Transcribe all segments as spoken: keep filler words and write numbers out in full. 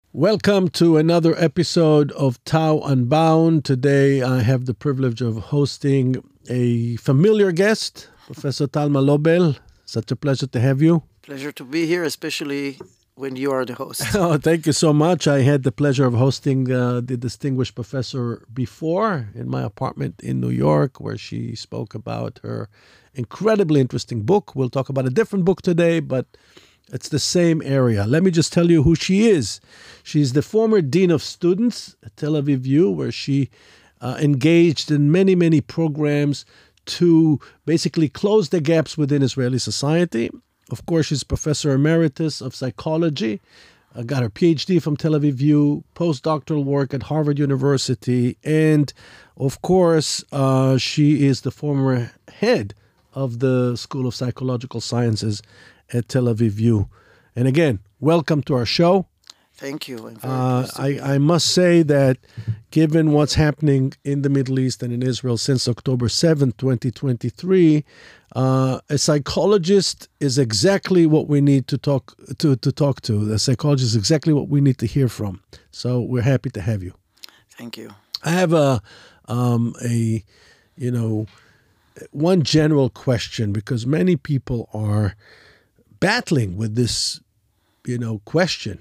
Welcome to another episode of Tao Unbound. Today I have the privilege of hosting a familiar guest, Professor Talma Lobel. Such a pleasure to have you. Pleasure to be here, especially when you are the host. Oh, thank you so much. I had the pleasure of hosting uh, the distinguished professor before in my apartment in New York, where she spoke about her incredibly interesting book. We'll talk about a different book today, but it's the same area. Let me just tell you who she is. She's the former Dean of Students at Tel Aviv U, where she uh, engaged in many, many programs to basically close the gaps within Israeli society. Of course, she's Professor Emeritus of Psychology, uh, got her P H D from Tel Aviv U, postdoctoral work at Harvard University, and of course, uh, she is the former head of the School of Psychological Sciences at Tel Aviv U. And again, welcome to our show. Thank you. I'm very Uh, pleased to I, be here. I must say that given what's happening in the Middle East and in Israel since October seventh, twenty twenty-three, uh, a psychologist is exactly what we need to talk to, to talk to. A psychologist is exactly what we need to hear from. So we're happy to have you. Thank you. I have a, um, a, you know, one general question, because many people are battling with this, you know, question.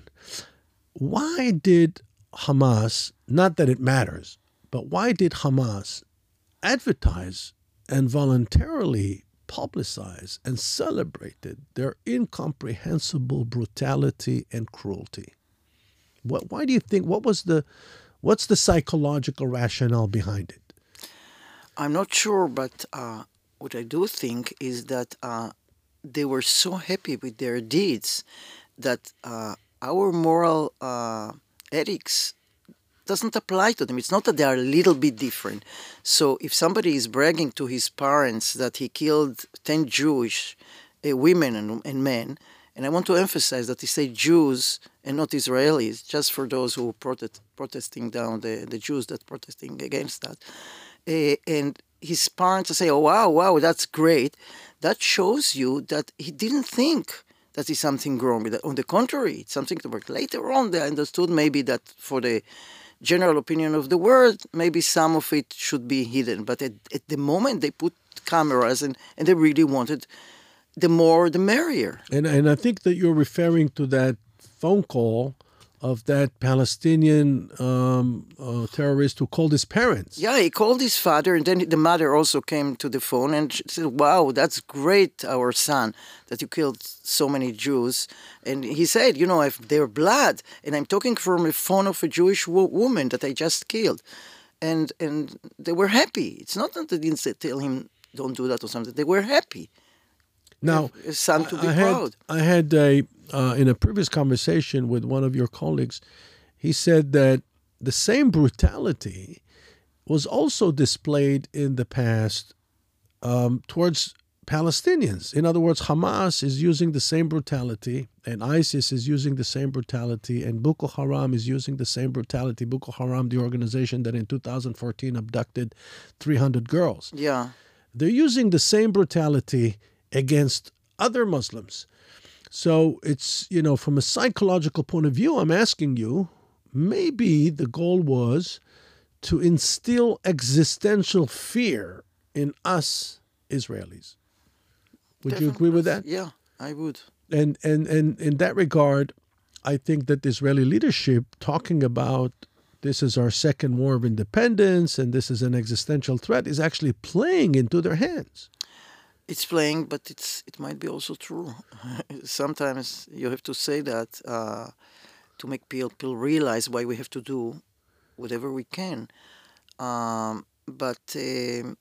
Why did Hamas, not that it matters, but why did Hamas advertise and voluntarily publicize and celebrated their incomprehensible brutality and cruelty? What, why do you think, what was the, what's the psychological rationale behind it? I'm not sure, but uh, what I do think is that uh, they were so happy with their deeds that uh, our moral uh, ethics doesn't apply to them. It's not that they are a little bit different. So if somebody is bragging to his parents that he killed ten Jewish uh, women and, and men, and I want to emphasize that he said Jews and not Israelis, just for those who protest, protesting down the, the Jews that protesting against that. Uh, and his parents say, oh, wow, wow, that's great. That shows you that he didn't think that is something wrong with it. On the contrary, it's something to work. Later on, they understood maybe that for the general opinion of the world, maybe some of it should be hidden. But at, at the moment, they put cameras and, and they really wanted the more, the merrier. And and I think that you're referring to that phone call of that Palestinian um, uh, terrorist who called his parents. Yeah, he called his father, and then the mother also came to the phone and she said, wow, that's great, our son, that you killed so many Jews. And he said, you know, if their blood, and I'm talking from a phone of a Jewish wo- woman that I just killed. And and they were happy. It's not that they didn't say, tell him, don't do that or something. They were happy. Now, A son to be I had, proud. I had a, uh, in a previous conversation with one of your colleagues, he said that the same brutality was also displayed in the past um, towards Palestinians. In other words, Hamas is using the same brutality, and ISIS is using the same brutality, and Boko Haram is using the same brutality. Boko Haram, the organization that in two thousand fourteen abducted three hundred girls. Yeah. They're using the same brutality against other Muslims. So it's, you know, from a psychological point of view, I'm asking you, maybe the goal was to instill existential fear in us Israelis. Would you agree with that? Yeah, I would. And, and, and in that regard, I think that the Israeli leadership talking about this is our second war of independence and this is an existential threat is actually playing into their hands. It's playing, but it's it might be also true. Sometimes you have to say that uh, to make people realize why we have to do whatever we can. Um, but um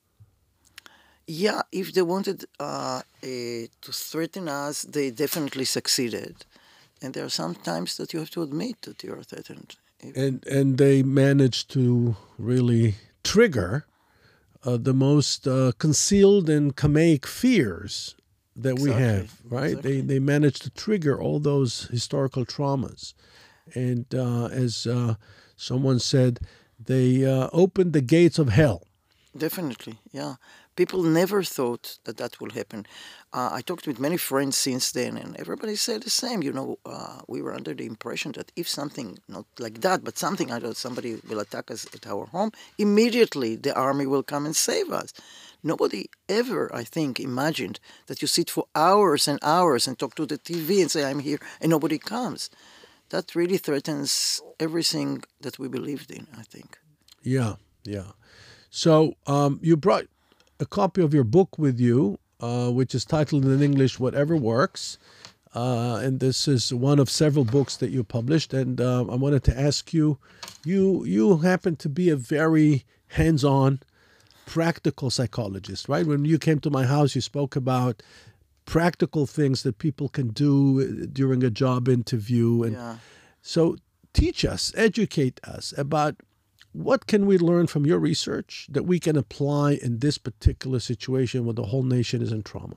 yeah, if they wanted uh, uh, to threaten us, they definitely succeeded. And there are some times that you have to admit that you are threatened. And and they managed to really trigger uh, the most uh, concealed and Kamaic fears that we Exactly, have, right? exactly. They they managed to trigger all those historical traumas. And uh, as uh, someone said, they uh, opened the gates of hell. Definitely, yeah. People never thought that that will happen. Uh, I talked with many friends since then, and everybody said the same. You know, uh, we were under the impression that if something, not like that, but something, I don't know, somebody will attack us at our home, immediately the army will come and save us. Nobody ever, I think, imagined that you sit for hours and hours and talk to the T V and say, I'm here, and nobody comes. That really threatens everything that we believed in, I think. Yeah, yeah. So um, you brought a copy of your book with you, uh, which is titled in English, Whatever Works. Uh, and this is one of several books that you published. And uh, I wanted to ask you, you you happen to be a very hands-on, practical psychologist, right? When you came to my house, you spoke about practical things that people can do during a job interview. And Yeah. so teach us, educate us about what can we learn from your research that we can apply in this particular situation where the whole nation is in trauma?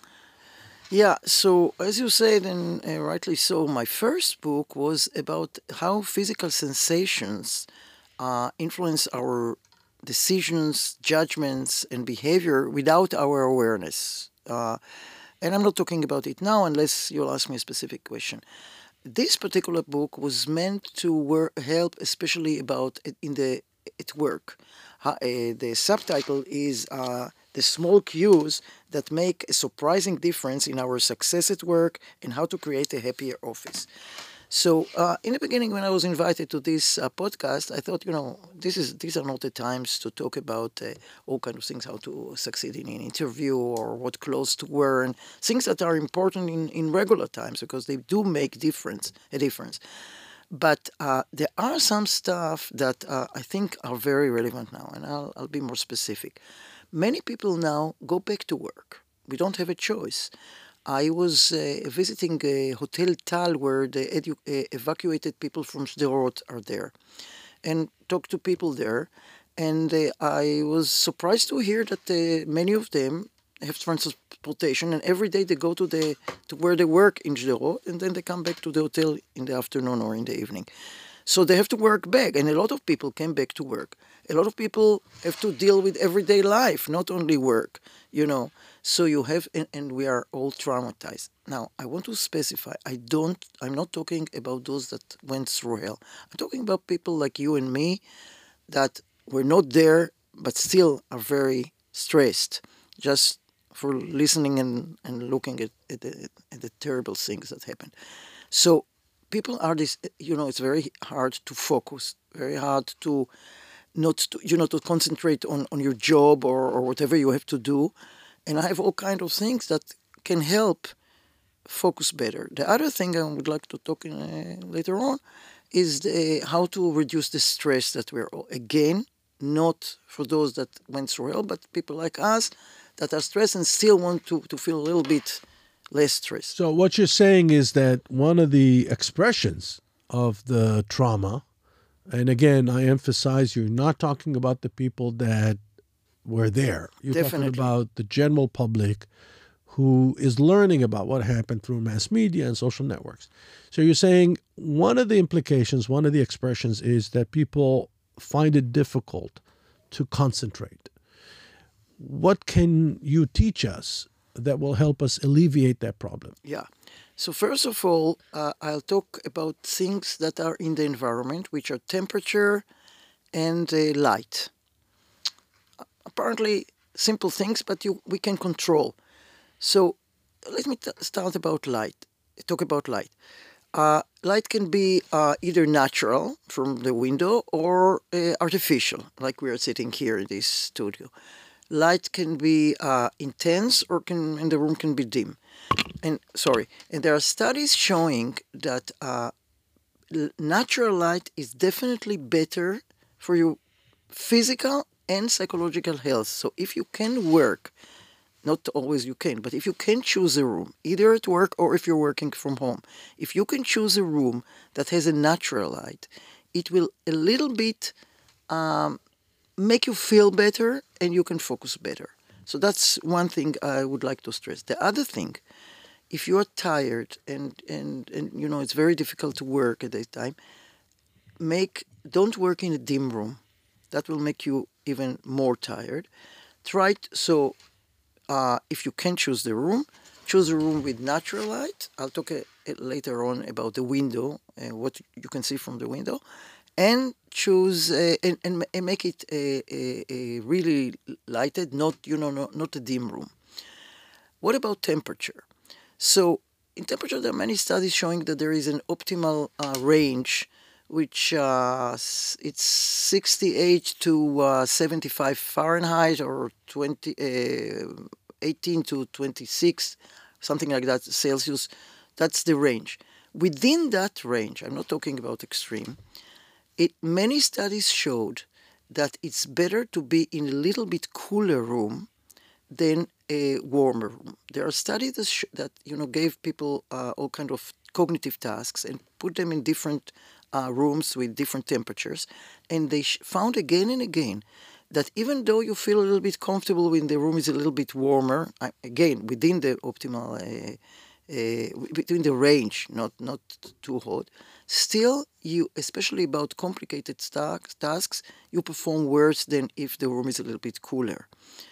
Yeah, so as you said, and uh, rightly so, my first book was about how physical sensations uh, influence our decisions, judgments, and behavior without our awareness. Uh, and I'm not talking about it now unless you'll ask me a specific question. This particular book was meant to work, help, especially about it in the at work. Ha- uh, the subtitle is uh, "The Small Cues That Make a Surprising Difference in Our Success at Work and How to Create a Happier Office." So, uh, in the beginning, when I was invited to this uh, podcast, I thought, you know, this is these are not the times to talk about uh, all kind of things, how to succeed in an interview or what clothes to wear, and things that are important in, in regular times because they do make difference a difference. But uh, there are some stuff that uh, I think are very relevant now, and I'll, I'll be more specific. Many people now go back to work. We don't have a choice. I was uh, visiting a Hotel Tal where the edu- uh, evacuated people from Sderot are there and talked to people there. And uh, I was surprised to hear that uh, many of them have transportation and every day they go to the to where they work in Sderot and then they come back to the hotel in the afternoon or in the evening. So they have to work back, and a lot of people came back to work. A lot of people have to deal with everyday life, not only work, you know. So you have, and, and we are all traumatized. Now, I want to specify, I don't, I'm not talking about those that went through hell. I'm talking about people like you and me that were not there, but still are very stressed, just for listening and, and looking at, at, the, at the terrible things that happen. So people are this, you know, it's very hard to focus, very hard to not, to, you know, to concentrate on, on your job or, or whatever you have to do. And I have all kind of things that can help focus better. The other thing I would like to talk in, uh, later on is the, how to reduce the stress that we're all, again, not for those that went through hell, but people like us that are stressed and still want to, to feel a little bit less stressed. So what you're saying is that one of the expressions of the trauma, and again, I emphasize you're not talking about the people that were there. You're Definitely. talking about the general public who is learning about what happened through mass media and social networks. So you're saying one of the implications, one of the expressions is that people find it difficult to concentrate. What can you teach us that will help us alleviate that problem? Yeah. So first of all, uh, I'll talk about things that are in the environment, which are temperature and uh, light. Apparently simple things, but you we can control. So let me t- start about light. Talk about light. Uh, light can be uh, either natural from the window or uh, artificial, like we are sitting here in this studio. Light can be uh, intense or can and the room can be dim. And sorry, and there are studies showing that uh, l- natural light is definitely better for your physical and psychological health. So if you can work, not always you can, but if you can choose a room, either at work or if you're working from home, if you can choose a room that has a natural light, it will a little bit um, make you feel better and you can focus better. So that's one thing I would like to stress. The other thing, if you are tired and, and, and you know it's very difficult to work at that time, make don't work in a dim room. That will make you even more tired. try t- so uh, if you can choose the room, choose a room with natural light. I'll talk a, a later on about the window and what you can see from the window, and choose uh, and, and, and make it a, a, a really lighted, not you know not, not a dim room. What about temperature? So in temperature, there are many studies showing that there is an optimal uh, range, which uh, s- it's sixty-eight to uh, seventy-five Fahrenheit or twenty, uh, eighteen to twenty-six, something like that, Celsius. That's the range. Within that range, I'm not talking about extreme, it, many studies showed that it's better to be in a little bit cooler room than a warmer room. There are studies that, sh- that you know gave people uh, all kind of cognitive tasks and put them in different uh, rooms with different temperatures, and they sh- found again and again that even though you feel a little bit comfortable when the room is a little bit warmer, uh, again within the optimal, uh, uh, between the range, not not too hot, still you, especially about complicated tasks, tasks, you perform worse than if the room is a little bit cooler.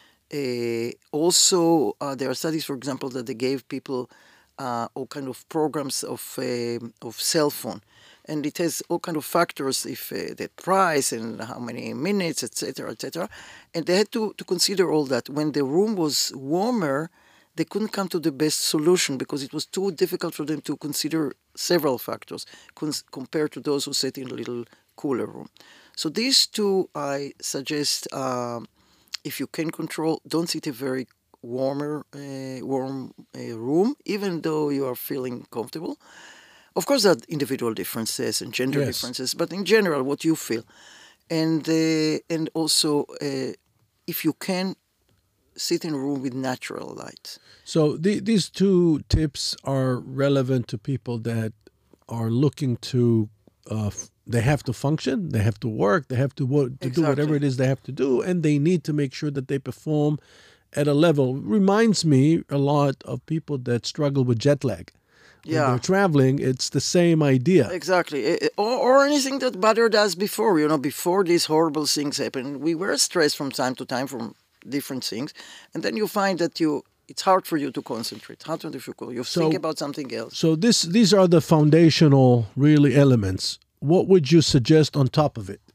Uh, also, uh, there are studies, for example, that they gave people uh, all kind of programs of um of cell phone, and it has all kind of factors, if uh, the price and how many minutes, et cetera, et cetera. And they had to, to consider all that. When the room was warmer, they couldn't come to the best solution because it was too difficult for them to consider several factors cons- compared to those who sat in a little cooler room. So these two, I suggest. Um, if you can control, don't sit a very warmer, uh, warm uh, room, even though you are feeling comfortable. Of course, there are individual differences and gender Yes. differences, but in general, what you feel, and uh, and also, uh, if you can, sit in a room with natural light. So the, these two tips are relevant to people that are looking to. Uh, f- they have to function. They have to work. They have to wo- to do whatever Exactly. it is they have to do, and they need to make sure that they perform at a level. Reminds me a lot of people that struggle with jet lag when they're Yeah. traveling. It's the same idea. Exactly. Eh, eh, Or, or anything that bothered us before, you know, before these horrible things happened. We were stressed from time to time from different things. And then you find that you it's hard for you to concentrate, hard to difficult. You think So about something else. so this these are the foundational really elements. What would you suggest on top of it?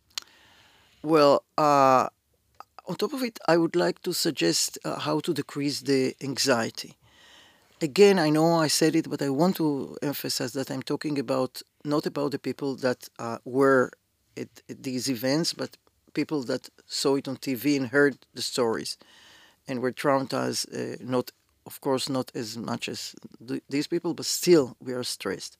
Well, uh, on top of it, I would like to suggest uh, how to decrease the anxiety. Again, I know I said it, but I want to emphasize that I'm talking about not about the people that uh, were at, at these events, but people that saw it on T V and heard the stories and were traumatized. Uh, not, of course, not as much as th- these people, but still we are stressed.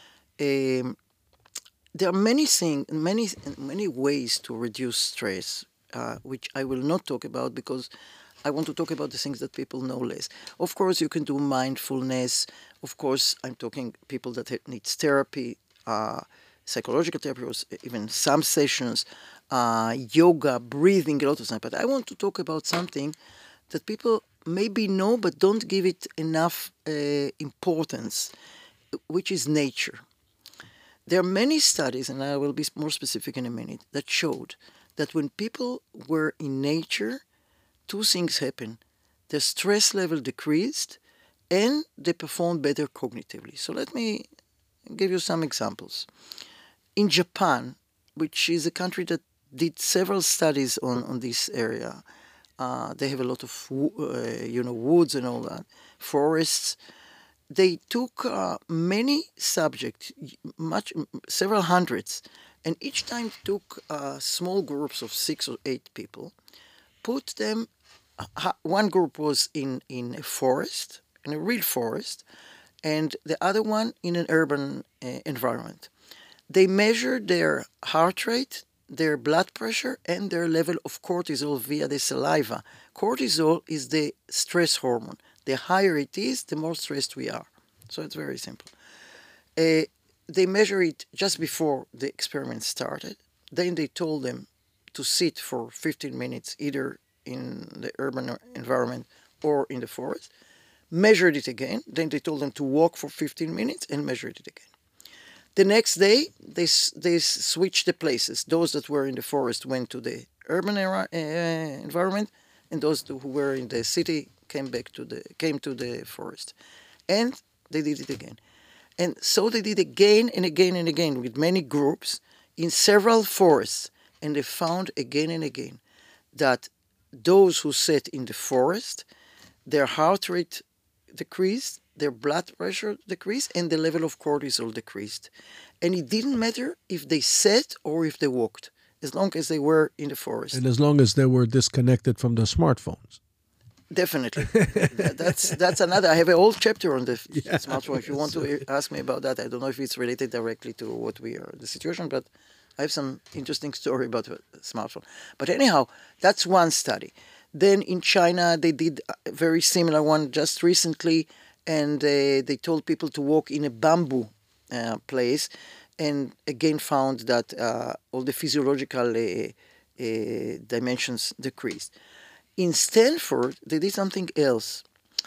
Um, there are many things, many many ways to reduce stress, uh, which I will not talk about because I want to talk about the things that people know less. Of course, you can do mindfulness. Of course, I'm talking people that ha- needs therapy, uh, psychological therapy, or s- even some sessions, uh, yoga, breathing, a lot of stuff. But I want to talk about something that people maybe know but don't give it enough uh, importance, which is nature. There are many studies, and I will be more specific in a minute, that showed that when people were in nature, two things happened. The stress level decreased and they performed better cognitively. So let me give you some examples. In Japan, which is a country that did several studies on, on this area, uh, they have a lot of uh, you know woods and all that, forests. They took uh, many subjects, much several hundreds, and each time took uh, small groups of six or eight people, put them. Uh, one group was in in a forest, in a real forest, and the other one in an urban uh, environment. They measured their heart rate, their blood pressure, and their level of cortisol via the saliva. Cortisol is the stress hormone. The higher it is, the more stressed we are. So it's very simple. Uh, they measure it just before the experiment started. Then they told them to sit for fifteen minutes either in the urban environment or in the forest. Measured it again. Then they told them to walk for fifteen minutes and measured it again. The next day, they, they switched the places. Those that were in the forest went to the urban era, uh, environment. and those who were in the city came back to the came to the forest, and they did it again, and so they did again and again and again with many groups in several forests, and they found again and again that those who sat in the forest, their heart rate decreased, their blood pressure decreased, and the level of cortisol decreased. And it didn't matter if they sat or if they walked, as long as they were in the forest. And as long as they were disconnected from the smartphones. Definitely. That- that's that's another. I have a whole chapter on the f- Yeah, smartphone. If you want to ask me about that, I don't know if it's related directly to what we are, the situation, but I have some interesting story about the smartphone. But anyhow, that's one study. Then in China, they did a very similar one just recently, and uh, they told people to walk in a bamboo uh, place, and again found that uh, all the physiological uh, uh, dimensions decreased. In Stanford, they did something else.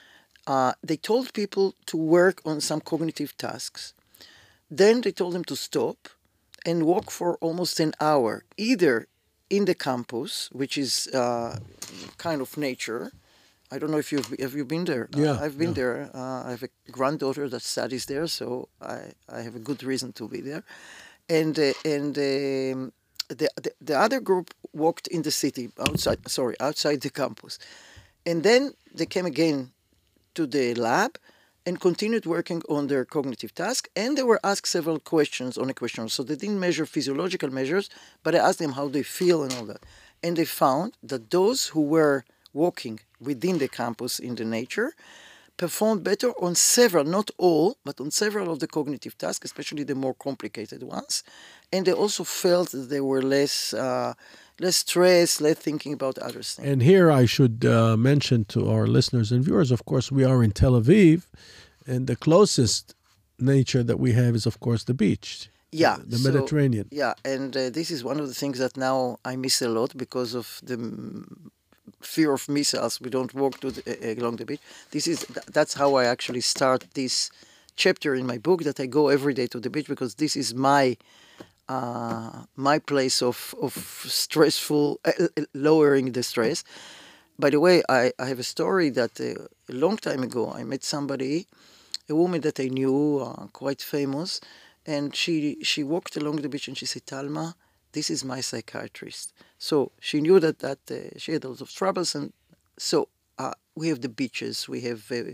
Uh, they told people to work on some cognitive tasks. Then they told them to stop and walk for almost an hour, either in the campus, which is uh, kind of nature. I don't know if you've have you been there. Yeah, uh, I've been yeah. there. Uh, I have a granddaughter that studies there, so I, I have a good reason to be there. And uh, and um, the, the the other group walked in the city outside. Sorry, outside the campus, and then they came again to the lab and continued working on their cognitive task. And they were asked several questions on a questionnaire. So they didn't measure physiological measures, but I asked them how they feel and all that. And they found that those who were walking within the campus in the nature performed better on several, not all, but on several of the cognitive tasks, especially the more complicated ones. And they also felt that they were less uh, less stressed, less thinking about other things. And here I should uh, mention to our listeners and viewers, of course, we are in Tel Aviv, and the closest nature that we have is, of course, the beach. Yeah, The so- Mediterranean. Yeah, and uh, this is one of the things that now I miss a lot because of the mm, fear of missiles. We don't walk to the, uh, along the beach. This is th- that's how I actually start this chapter in my book. That I go every day to the beach because this is my uh, my place of of stressful uh, uh, lowering the stress. By the way, I, I have a story that uh, a long time ago I met somebody, a woman that I knew, uh, quite famous, and she she walked along the beach and she said, "Talma, this is my psychiatrist." So she knew that that uh, she had a lot of troubles, and so uh, we have the beaches, we have uh,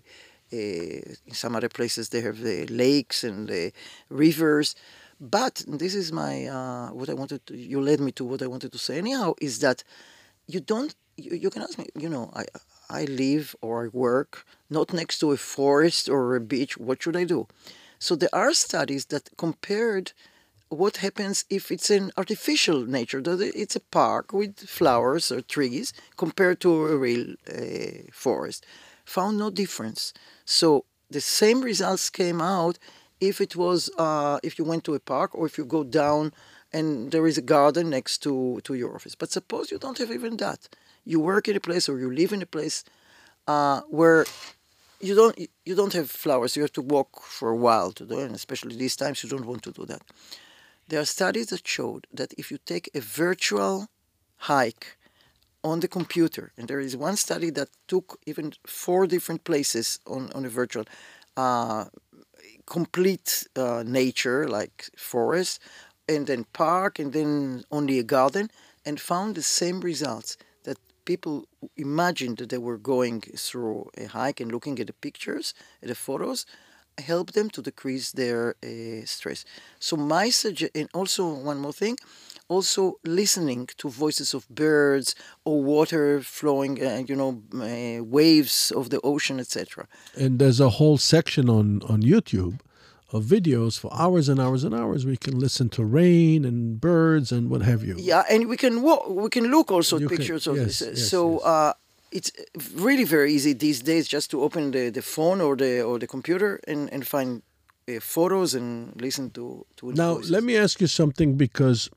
uh, in some other places they have the lakes and the rivers, but this is my uh, what I wanted to. You led me to what I wanted to say. Anyhow, is that you don't. You, you can ask me. You know, I I live or I work not next to a forest or a beach. What should I do? So there are studies that compared what happens if it's an artificial nature, that it's a park with flowers or trees compared to a real uh, forest, found no difference. So the same results came out if it was uh, if you went to a park or if you go down and there is a garden next to, to your office. But suppose you don't have even that. You work in a place or you live in a place uh, where you don't you don't have flowers. You have to walk for a while to do it, and especially these times you don't want to do that. There are studies that showed that if you take a virtual hike on the computer, and there is one study that took even four different places on, on a virtual, uh, complete uh, nature like forest, and then park, and then only a garden, and found the same results, that people imagined that they were going through a hike and looking at the pictures, at the photos, help them to decrease their uh, stress. So my sugge- and also one more thing, also listening to voices of birds or water flowing, uh, you know, uh, waves of the ocean, et cetera. And there's a whole section on, on YouTube of videos for hours and hours and hours. We can listen to rain and birds and what have you. Yeah, and we can walk, we can look also You at can- pictures of yes, this. yes, so yes. Uh, it's really very easy these days just to open the, the phone or the or the computer and and find uh, photos and listen to to Now, voices. let me ask you something, because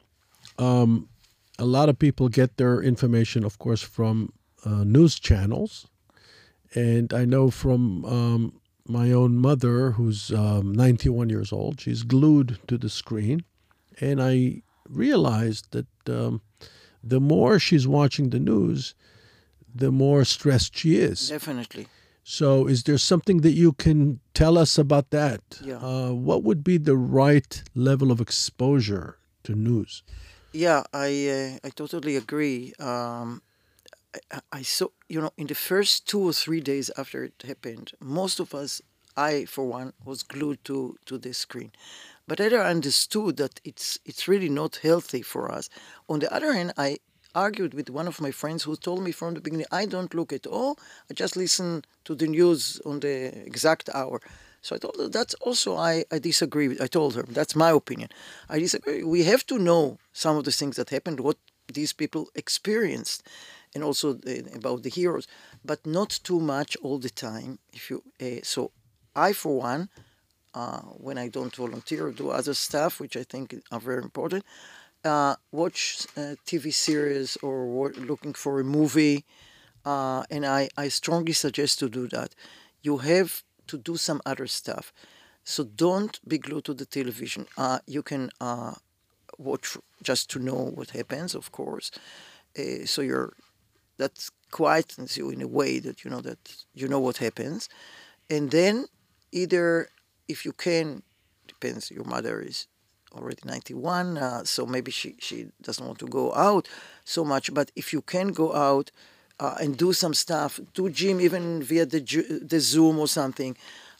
um, a lot of people get their information, of course, from uh, news channels. And I know from um, my own mother, who's um, ninety-one years old, she's glued to the screen. And I realized that um, the more she's watching the news, the more stressed she is. Definitely. So, is there something that you can tell us about that? Yeah. Uh, what would be the right level of exposure to news? Yeah, I uh, I totally agree. Um, I, I saw, you know, in the first two or three days after it happened, most of us, I for one, was glued to to the screen. But I understood that it's it's really not healthy for us. On the other hand, I argued with one of my friends who told me from the beginning, I don't look at all. I just listen to the news on the exact hour. So I told her that's also I, I disagree with. I told her that's my opinion. I disagree. We have to know some of the things that happened, what these people experienced, and also the, about the heroes, but not too much all the time. If you uh, so, I for one, uh, when I don't volunteer or do other stuff, which I think are very important, uh, watch uh, T V series or wa- looking for a movie, uh, and I, I strongly suggest to do that. You have to do some other stuff. So don't be glued to the television. Uh, you can uh, watch just to know what happens, of course. Uh, so you're that quietens you in a way that you know that you know what happens, and then either if you can, depends. Your mother is already ninety-one, uh, so maybe she she doesn't want to go out so much. But if you can go out uh, and do some stuff, do gym even via the the Zoom or something.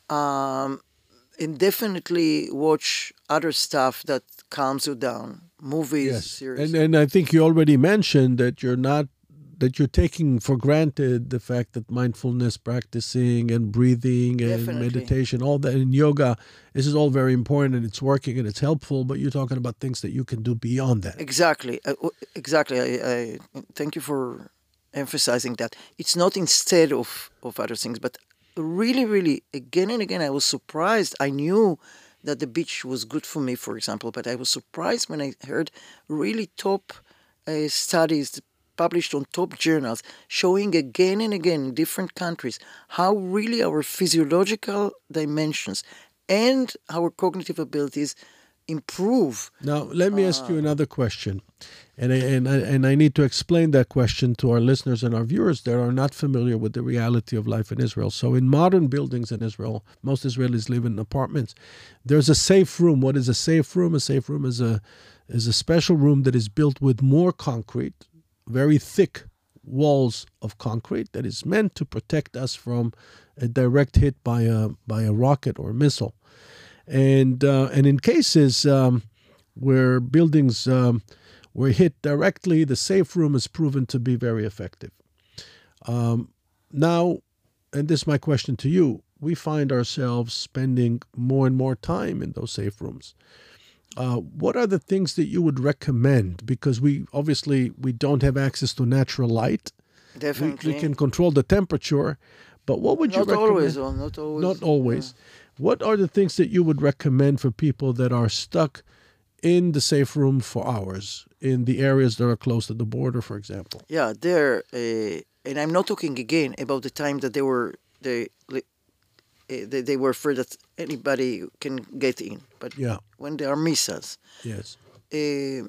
Um, and definitely watch other stuff that calms you down, movies, Yes, and series. and I think you already mentioned that you're not that you're taking for granted the fact that mindfulness practicing and breathing and Definitely. meditation, all that in yoga, this is all very important and it's working and it's helpful. But you're talking about things that you can do beyond that. Exactly, uh, w- exactly. I, I thank you for emphasizing that. It's not instead of of other things, but really, really, again and again, I was surprised. I knew that the beach was good for me, for example, but I was surprised when I heard really top uh, studies published on top journals showing again and again in different countries how really our physiological dimensions and our cognitive abilities improve. Now, let me ask you another question. And I, and, I, and I need to explain that question to our listeners and our viewers that are not familiar with the reality of life in Israel. So, in modern buildings in Israel, most Israelis live in apartments. There's a safe room. What is a safe room? A safe room is a is a special room that is built with more concrete, very thick walls of concrete that is meant to protect us from a direct hit by a by a rocket or a missile. And uh, and in cases um, where buildings um, were hit directly, the safe room is proven to be very effective. Um, now, and this is my question to you, we find ourselves spending more and more time in those safe rooms. Uh, what are the things that you would recommend? Because we obviously we don't have access to natural light. We, Definitely. we can control the temperature, but what would you Not recommend? always, or not always. Not always. What are the things that you would recommend for people that are stuck in the safe room for hours in the areas that are close to the border, for example? Yeah, there, uh, and I'm not talking again about the time that they were they li- uh, they, they were afraid that anybody can get in, but Yeah. when there are missiles, Yes. uh,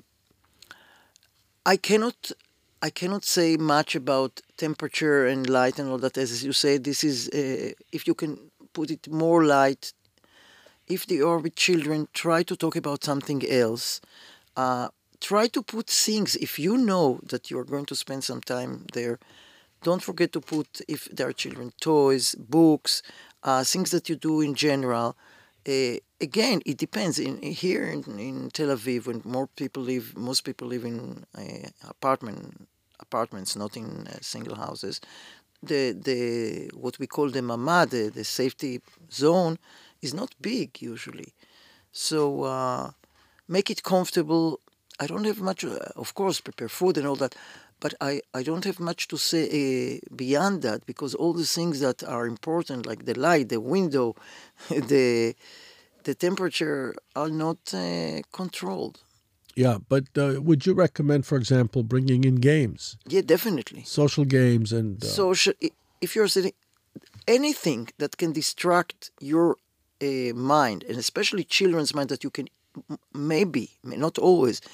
I cannot I cannot say much about temperature and light and all that. As you say, this is uh, if you can put it more light. If they are with children, try to talk about something else. Uh, try to put things. If you know that you are going to spend some time there, don't forget to put, if there are children, toys, books, uh, things that you do in general. Uh, again, it depends. In here in, in Tel Aviv, when more people live, most people live in uh, apartment apartments, not in uh, single houses. The the what we call the mamad, the, the safety zone, is not big usually. So uh, make it comfortable. I don't have much, uh, of course, prepare food and all that, but I, I don't have much to say uh, beyond that because all the things that are important, like the light, the window, the the temperature, are not uh, controlled. Yeah, but uh, would you recommend, for example, bringing in games, Yeah, definitely. social games, and uh, So sh- if you're sitting, anything that can distract your uh, mind, and especially children's mind, that you can m- maybe, may not always,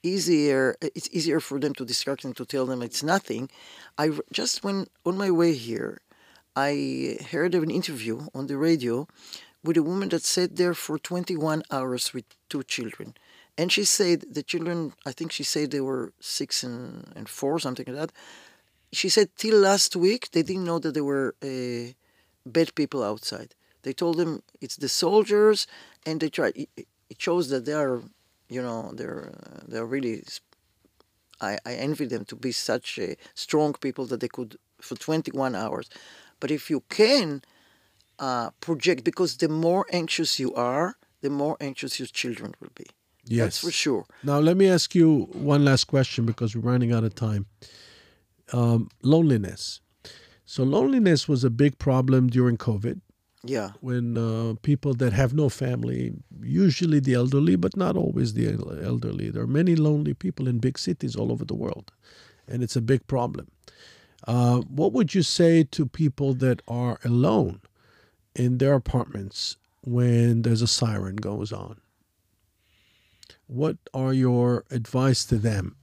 easier. It's easier for them to distract and to tell them it's nothing. I r- just when on my way here, I heard of an interview on the radio with a woman that sat there for twenty-one hours with two children. And she said the children, I think she said they were six and, and four, something like that. She said till last week they didn't know that there were uh, bad people outside. They told them it's the soldiers, and they tried. It, it shows that they are, you know, they're uh, they're really. I, I envy them to be such uh, strong people that they could for twenty-one hours. But if you can uh, project, because the more anxious you are, the more anxious your children will be. Yes. That's for sure. Now, let me ask you one last question because we're running out of time. Um, loneliness. So loneliness was a big problem during COVID Yeah. when uh, people that have no family, usually the elderly, but not always the el- elderly. There are many lonely people in big cities all over the world, and it's a big problem. Uh, what would you say to people that are alone in their apartments when there's a siren goes on? What are your advice to them?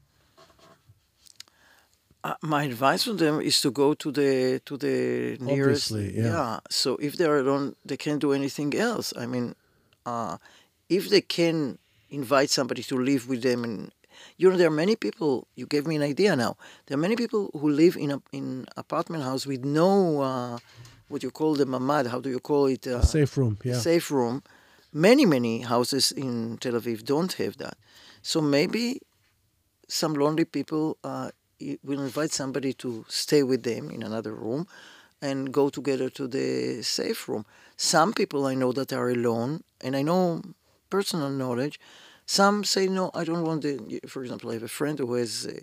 Uh, my advice to them is to go to the to the nearest. Obviously, yeah. So if they are alone, they can't do anything else. I mean, uh, if they can invite somebody to live with them, and you know, there are many people. You gave me an idea now. There are many people who live in a in apartment house with no uh, what you call the mamad. How do you call it? Uh, Safe room, yeah. Safe room. Many many houses in Tel Aviv don't have that. So maybe some lonely people uh, will invite somebody to stay with them in another room and go together to the safe room. Some people I know that are alone, and I know personal knowledge, some say, no, I don't want the, for example, I have a friend who has a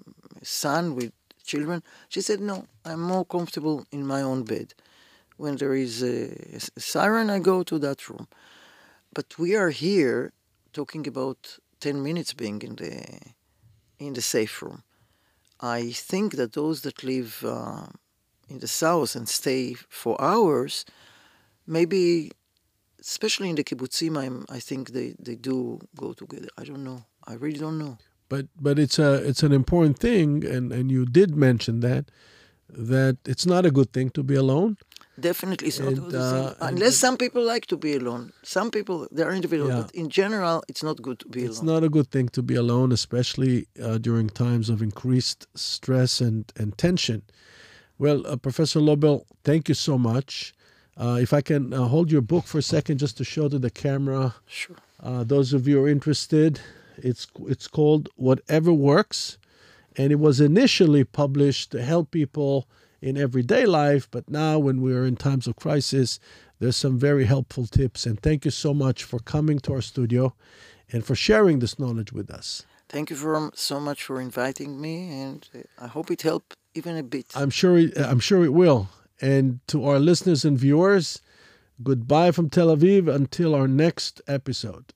son with children. She said, no, I'm more comfortable in my own bed. When there is a, a siren, I go to that room. But we are here talking about ten minutes being in the in the safe room. I think that those that live uh, in the south and stay for hours, maybe, especially in the kibbutzim, I'm, I think they, they do go together. I don't know. I really don't know. But but it's a it's an important thing, and, and you did mention that that it's not a good thing to be alone. Definitely, it's And, not good. uh, and- Unless some people like to be alone. Some people, they are individual, Yeah. but in general, it's not good to be It's alone. not a good thing to be alone, especially uh, during times of increased stress and, and tension. Well, uh, Professor Lobel, thank you so much. Uh, if I can uh, hold your book for a second just to show to the camera, Sure. uh, those of you who are interested, it's it's called Whatever Works, and it was initially published to help people in everyday life, but now when we are in times of crisis, there's some very helpful tips. And thank you so much for coming to our studio and for sharing this knowledge with us. Thank you for, so much for inviting me, and uh, I hope it helped even a bit. I'm sure it, I'm sure it will. And to our listeners and viewers, goodbye from Tel Aviv until our next episode.